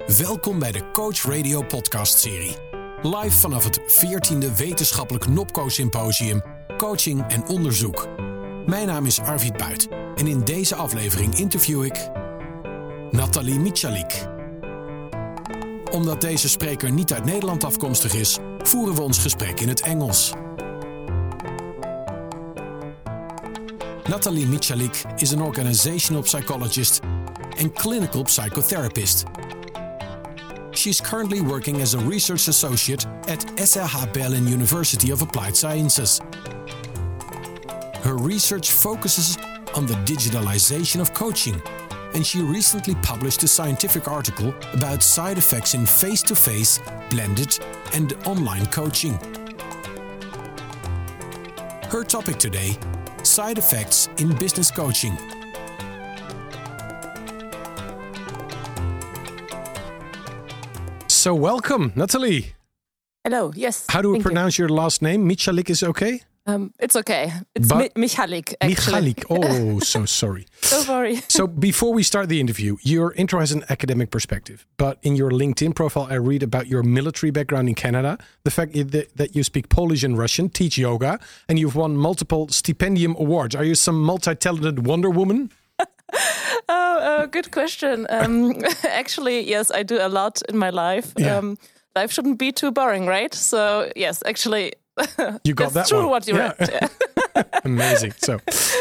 Welkom bij de Coach Radio podcast-serie. Live vanaf het 14e Wetenschappelijk Nopco Symposium Coaching en Onderzoek. Mijn naam is Arvid Buit en in deze aflevering interview ik Nathalie Michalik. Omdat deze spreker niet uit Nederland afkomstig is, voeren we ons gesprek in het Engels. Nathalie Michalik is an organizational psychologist and clinical psychotherapist. She is currently working as a research associate at SRH Berlin University of Applied Sciences. Her research focuses on the digitalization of coaching, and she recently published a scientific article about side effects in face-to-face, blended, and online coaching. Her topic today: side effects in business coaching. So welcome, Nathalie. Hello, yes. How do we pronounce your last name? Michalik is okay? It's okay. It's Michalik, actually. Michalik. Oh, so sorry. Don't worry. So before we start the interview, your intro has an academic perspective. But in your LinkedIn profile, I read about your military background in Canada, the fact that you speak Polish and Russian, teach yoga, and you've won multiple stipendium awards. Are you some multi-talented Wonder Woman? Good question. Actually, yes, I do a lot in my life. Yeah. Life shouldn't be too boring, right? So, yes, actually, you got that's that true one. what you read. Yeah. Amazing. So,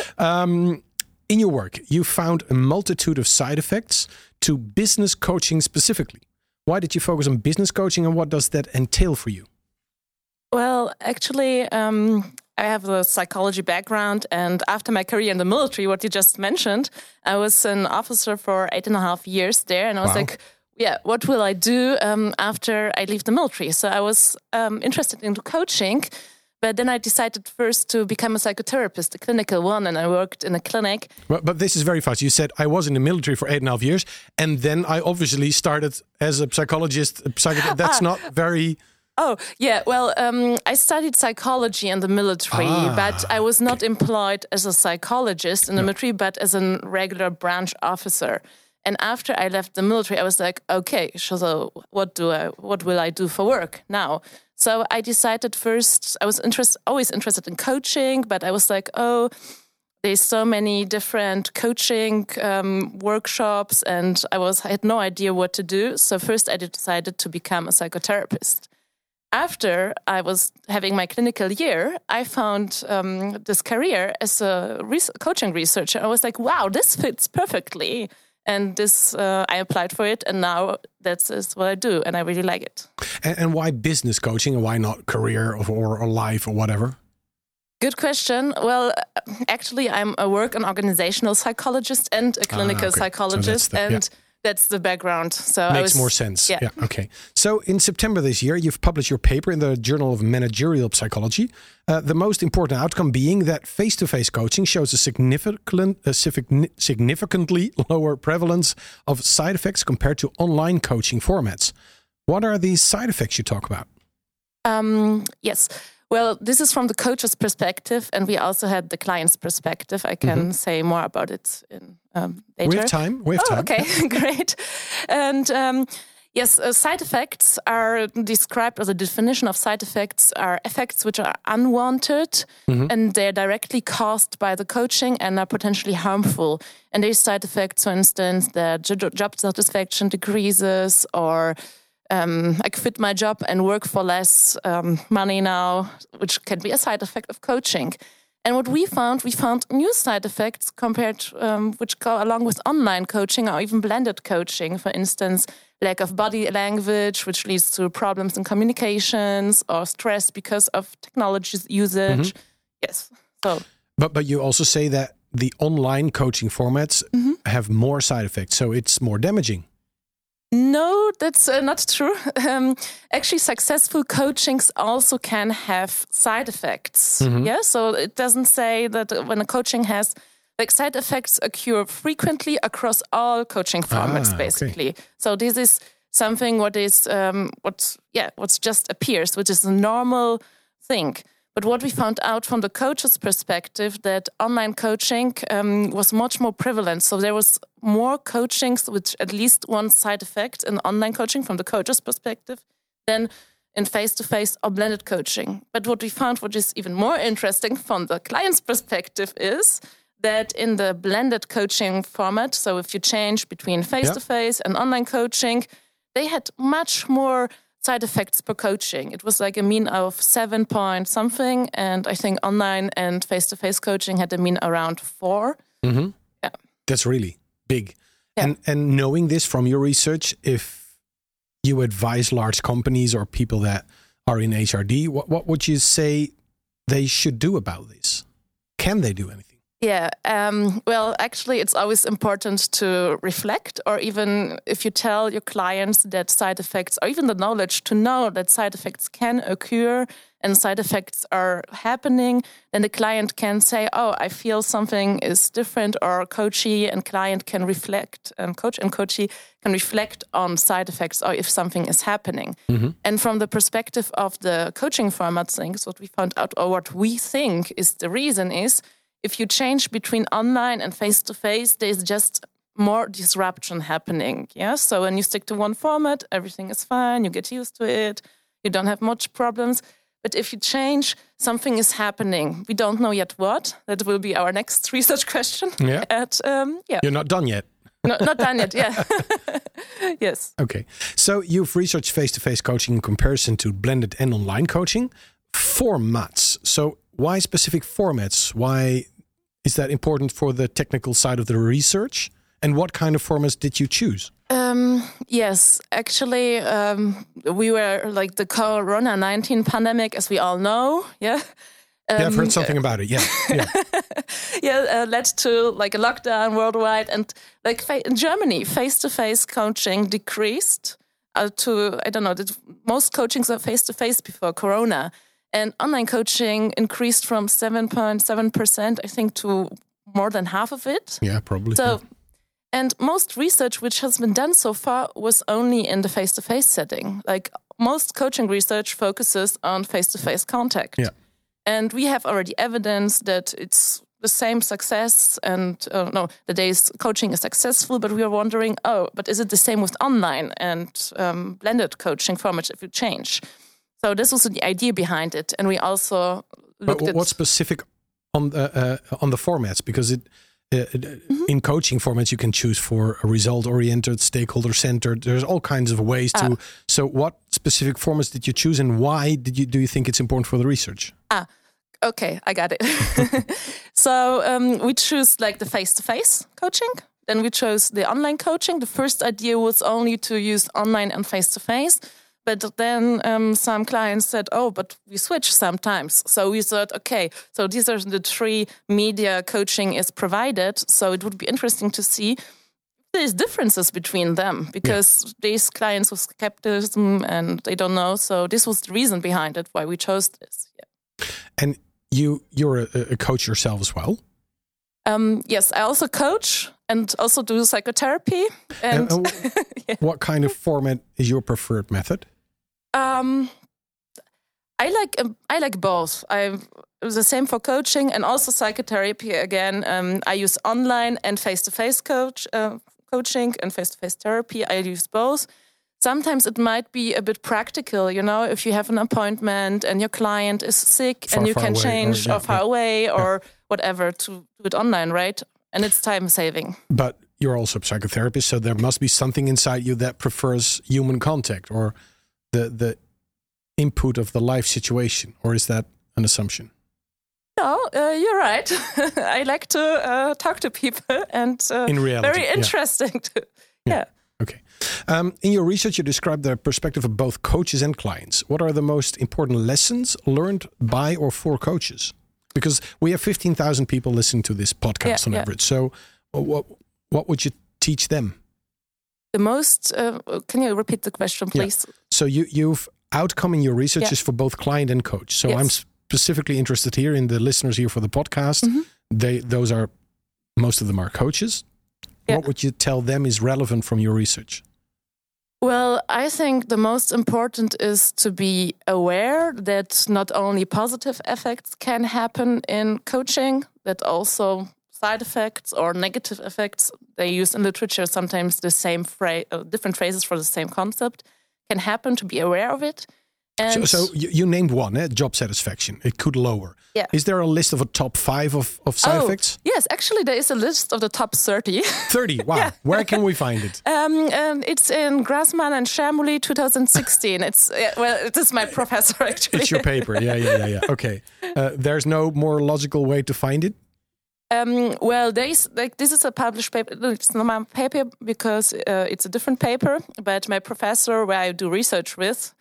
in your work, you found a multitude of side effects to business coaching specifically. Why did you focus on business coaching, and what does that entail for you? Well, actually, I have a psychology background, and after my career in the military, what you just mentioned, I was an officer for 8.5 years there, and I was like, yeah, what will I do after I leave the military? So I was interested in coaching, but then I decided first to become a psychotherapist, a clinical one, and I worked in a clinic. But this is very fast. You said, I was in the military for 8.5 years, and then I obviously started as a psychologist. That's not very... Oh, yeah. Well, I studied psychology in the military, but I was not employed as a psychologist in the military, but as a regular branch officer. And after I left the military, I was like, okay, so what will I do for work now? So I decided first, I was always interested in coaching, but I was like, there's so many different coaching workshops, and I had no idea what to do. So first I decided to become a psychotherapist. After I was having my clinical year, I found this career as a coaching researcher. I was like, wow, this fits perfectly. And I applied for it, and now that's what I do, and I really like it. And why business coaching, and why not career or life or whatever? Good question. Well, actually, I'm a work and organizational psychologist and a clinical psychologist, so that's the background. So makes more sense. Yeah. Okay. So in September this year, you've published your paper in the Journal of Managerial Psychology. The most important outcome being that face-to-face coaching shows a significantly lower prevalence of side effects compared to online coaching formats. What are these side effects you talk about? Yes. Well, this is from the coach's perspective, and we also had the client's perspective. I can say more about it in later. We have time. Okay, great. And yes, side effects are described, as a definition of side effects are effects which are unwanted, and they're directly caused by the coaching and are potentially harmful. And these side effects, for instance, that job satisfaction decreases, or I quit my job and work for less money now, which can be a side effect of coaching. And what we found new side effects compared, which go along with online coaching or even blended coaching. For instance, lack of body language, which leads to problems in communications, or stress because of technology usage. Yes. So, but you also say that the online coaching formats have more side effects, so it's more damaging. No, that's not true. Actually, successful coachings also can have side effects. Yeah, so it doesn't say that when a coaching has, like, side effects occur frequently across all coaching formats, basically. Okay. So this is something what just appears, which is a normal thing. But what we found out from the coach's perspective, that online coaching was much more prevalent. So there was more coachings with at least one side effect in online coaching from the coach's perspective than in face-to-face or blended coaching. But what we found, which is even more interesting from the client's perspective, is that in the blended coaching format, so if you change between face-to-face and online coaching, they had much more side effects per coaching. It was like a mean of 7 point something, and I think online and face-to-face coaching had a mean around 4. Mm-hmm. Yeah, that's really big. Yeah. And knowing this from your research, if you advise large companies or people that are in HRD, what would you say they should do about this? Can they do anything? Yeah, well, actually, it's always important to reflect, or even if you tell your clients that side effects, or even the knowledge to know that side effects can occur and side effects are happening, then the client can say, oh, I feel something is different, or coachee and client can reflect, coach and coachee can reflect on side effects or if something is happening. Mm-hmm. And from the perspective of the coaching format things, what we found out, or what we think is the reason is, if you change between online and face-to-face, there's just more disruption happening. Yeah. So when you stick to one format, everything is fine. You get used to it. You don't have much problems. But if you change, something is happening. We don't know yet what. That will be our next research question. Yeah. You're not done yet. No, not done yet. Yeah. Yes. Okay. So you've researched face-to-face coaching in comparison to blended and online coaching. Formats. So why specific formats? Why is that important for the technical side of the research? And what kind of formats did you choose? Yes, actually, we were like the Corona-19 pandemic, as we all know. Yeah. I've heard something about it. Yeah. Yeah. Led to like a lockdown worldwide, and like in Germany, face-to-face coaching decreased to, I don't know, most coachings are face-to-face before Corona. And online coaching increased from 7.7%, I think, to more than half of it. Yeah, probably. So, and most research which has been done so far was only in the face-to-face setting. Like most coaching research focuses on face-to-face contact. Yeah. And we have already evidence that it's the same success and the day's coaching is successful, but we are wondering, but is it the same with online and blended coaching formats if you change? So this was the idea behind it, and we also looked at... What's specific on the formats? Because in coaching formats, you can choose for a result-oriented, stakeholder-centered. There's all kinds of ways to... So what specific formats did you choose, and why do you think it's important for the research? Okay, I got it. So we choose like the face-to-face coaching. Then we chose the online coaching. The first idea was only to use online and face-to-face. But then some clients said, but we switch sometimes. So we thought, okay, so these are the 3 media coaching is provided. So it would be interesting to see if there's differences between them, because these clients with skepticism and they don't know. So this was the reason behind it, why we chose this. Yeah. And you're a coach yourself as well? Yes, I also coach and also do psychotherapy. And what kind of format is your preferred method? I like both. It's the same for coaching and also psychotherapy. Again, I use online and face-to-face coaching and face-to-face therapy. I use both. Sometimes it might be a bit practical, if you have an appointment and your client is sick and you can change or far away or whatever to do it online, right? And it's time saving. But you're also a psychotherapist, so there must be something inside you that prefers human contact or the input of the life situation, or is that an assumption? No, you're right. I like to talk to people, and in reality, very interesting too. Yeah. Okay. In your research, you described the perspective of both coaches and clients. What are the most important lessons learned by or for coaches? Because we have 15,000 people listening to this podcast on average. So what would you teach them? The most, can you repeat the question, please? Yeah. So you've outcome in your research is for both client and coach. So I'm specifically interested here in the listeners here for the podcast. Mm-hmm. Most of them are coaches. Yeah. What would you tell them is relevant from your research? Well, I think the most important is to be aware that not only positive effects can happen in coaching, that also side effects or negative effects, they use in literature sometimes the same different phrases for the same concept, can happen, to be aware of it. And so you named one, job satisfaction. It could lower. Yeah. Is there a list of a top 5 of side effects? Yes, actually there is a list of the top 30. 30, wow. Yeah. Where can we find it? It's in Grassmann and Shermouly 2016. It is my professor actually. It's your paper, yeah. Okay. There's no more logical way to find it? This is a published paper. It's not my paper because it's a different paper, but my professor where I do research with,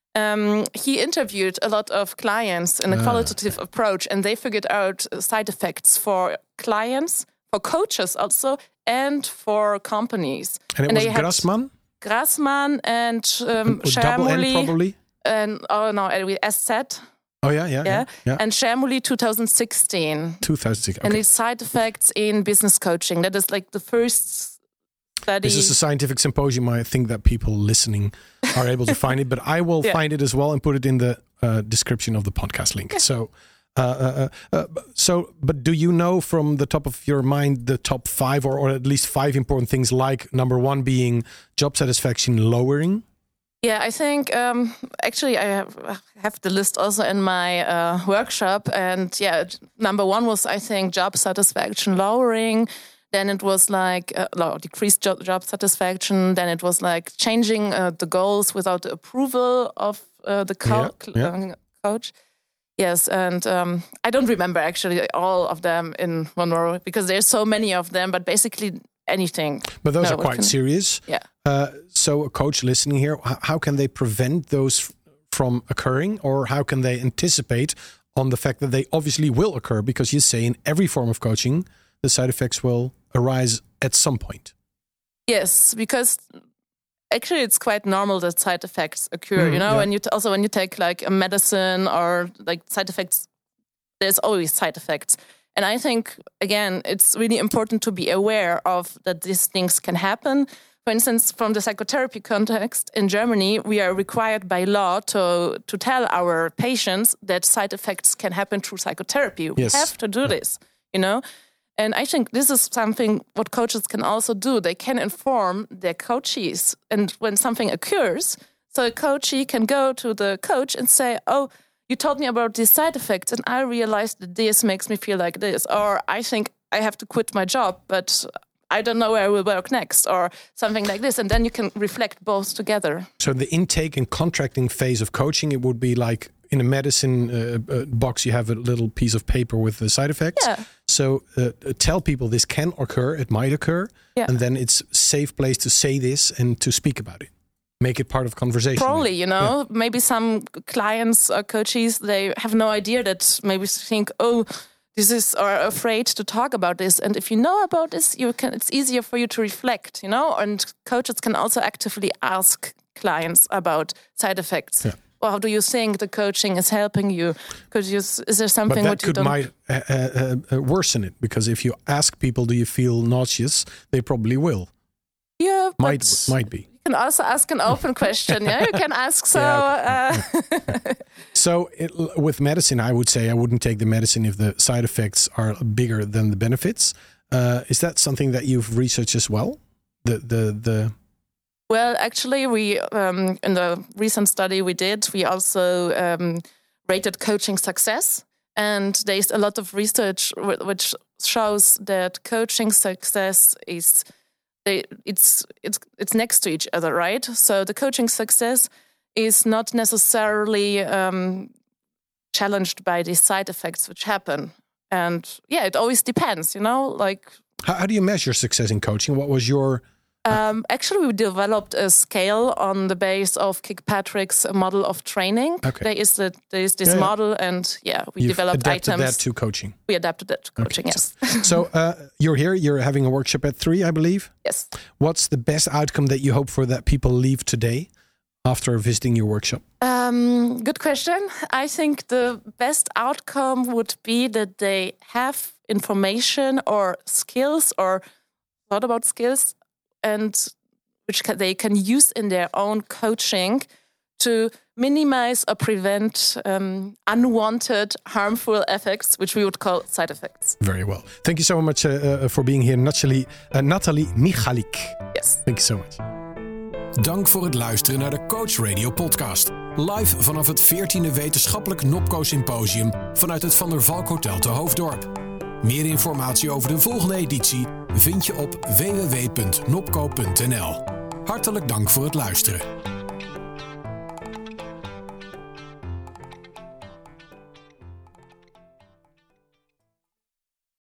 he interviewed a lot of clients in a qualitative approach, and they figured out side effects for clients, for coaches also, and for companies. And it was Grassmann? Grassmann and Shermouly. Probably? And SZ. Oh, yeah. And Shermouly 2016. 2016, okay. And its side effects in business coaching. That is like the first study. This is a scientific symposium. I think that people listening are able to find it, but I will find it as well and put it in the description of the podcast link. Yeah. But do you know from the top of your mind the top 5 or at least 5 important things, like number 1 being job satisfaction lowering? Yeah, I think actually I have the list also in my workshop, and number 1 was, I think, job satisfaction lowering. Then it was like decreased job satisfaction. Then it was like changing the goals without the approval of the coach. Yes, and I don't remember actually all of them in one row because there's so many of them, but basically anything. But those are quite serious. Yeah. So a coach listening here, how can they prevent those from occurring, or how can they anticipate on the fact that they obviously will occur? Because you say in every form of coaching, the side effects will arise at some point. Yes, because actually it's quite normal that side effects occur, and when you take like a medicine or like side effects, there's always side effects. And I think, again, it's really important to be aware of that these things can happen. For instance, from the psychotherapy context in Germany, we are required by law to tell our patients that side effects can happen through psychotherapy. We have to do this, And I think this is something what coaches can also do. They can inform their coachees. And when something occurs, so a coachee can go to the coach and say, oh, you told me about these side effects, and I realized that this makes me feel like this. Or I think I have to quit my job, but I don't know where I will work next, or something like this. And then you can reflect both together. So the intake and contracting phase of coaching, it would be like in a medicine box, you have a little piece of paper with the side effects. Yeah. So tell people this can occur, it might occur, and then it's a safe place to say this and to speak about it. Make it part of conversation. Probably, maybe some clients or coaches, they have no idea that maybe think, are afraid to talk about this. And if you know about this, it's easier for you to reflect, and coaches can also actively ask clients about side effects. Yeah. Well, how do you think the coaching is helping you? Is there something that might worsen it? Because if you ask people, do you feel nauseous? They probably will. Yeah, might be. You can also ask an open question. Yeah, you can ask. So, So with medicine, I would say I wouldn't take the medicine if the side effects are bigger than the benefits. Is that something that you've researched as well? Well, actually, we in the recent study we did, we also rated coaching success, and there's a lot of research which shows that coaching success is it's next to each other, right? So the coaching success is not necessarily challenged by the side effects which happen, and it always depends, Like, how do you measure success in coaching? What was your Actually, we developed a scale on the base of Kirkpatrick's model of training. Okay. There is this model, and we developed items. That to coaching. We adapted that to coaching. Okay. Yes. So you're here. You're having a workshop at 3, I believe. Yes. What's the best outcome that you hope for that people leave today after visiting your workshop? Good question. I think the best outcome would be that they have information or skills or thought about skills, and which they can use in their own coaching to minimize or prevent unwanted, harmful effects, which we would call side effects. Very well. Thank you so much for being here, Nathalie Michalik. Yes. Thank you so much. Dank voor het luisteren naar de Coach Radio podcast. Live vanaf het 14e Wetenschappelijk Nopco Symposium vanuit het Van der Valk Hotel te Hoofddorp. Meer informatie over de volgende editie vind je op www.nopco.nl. Hartelijk dank voor het luisteren.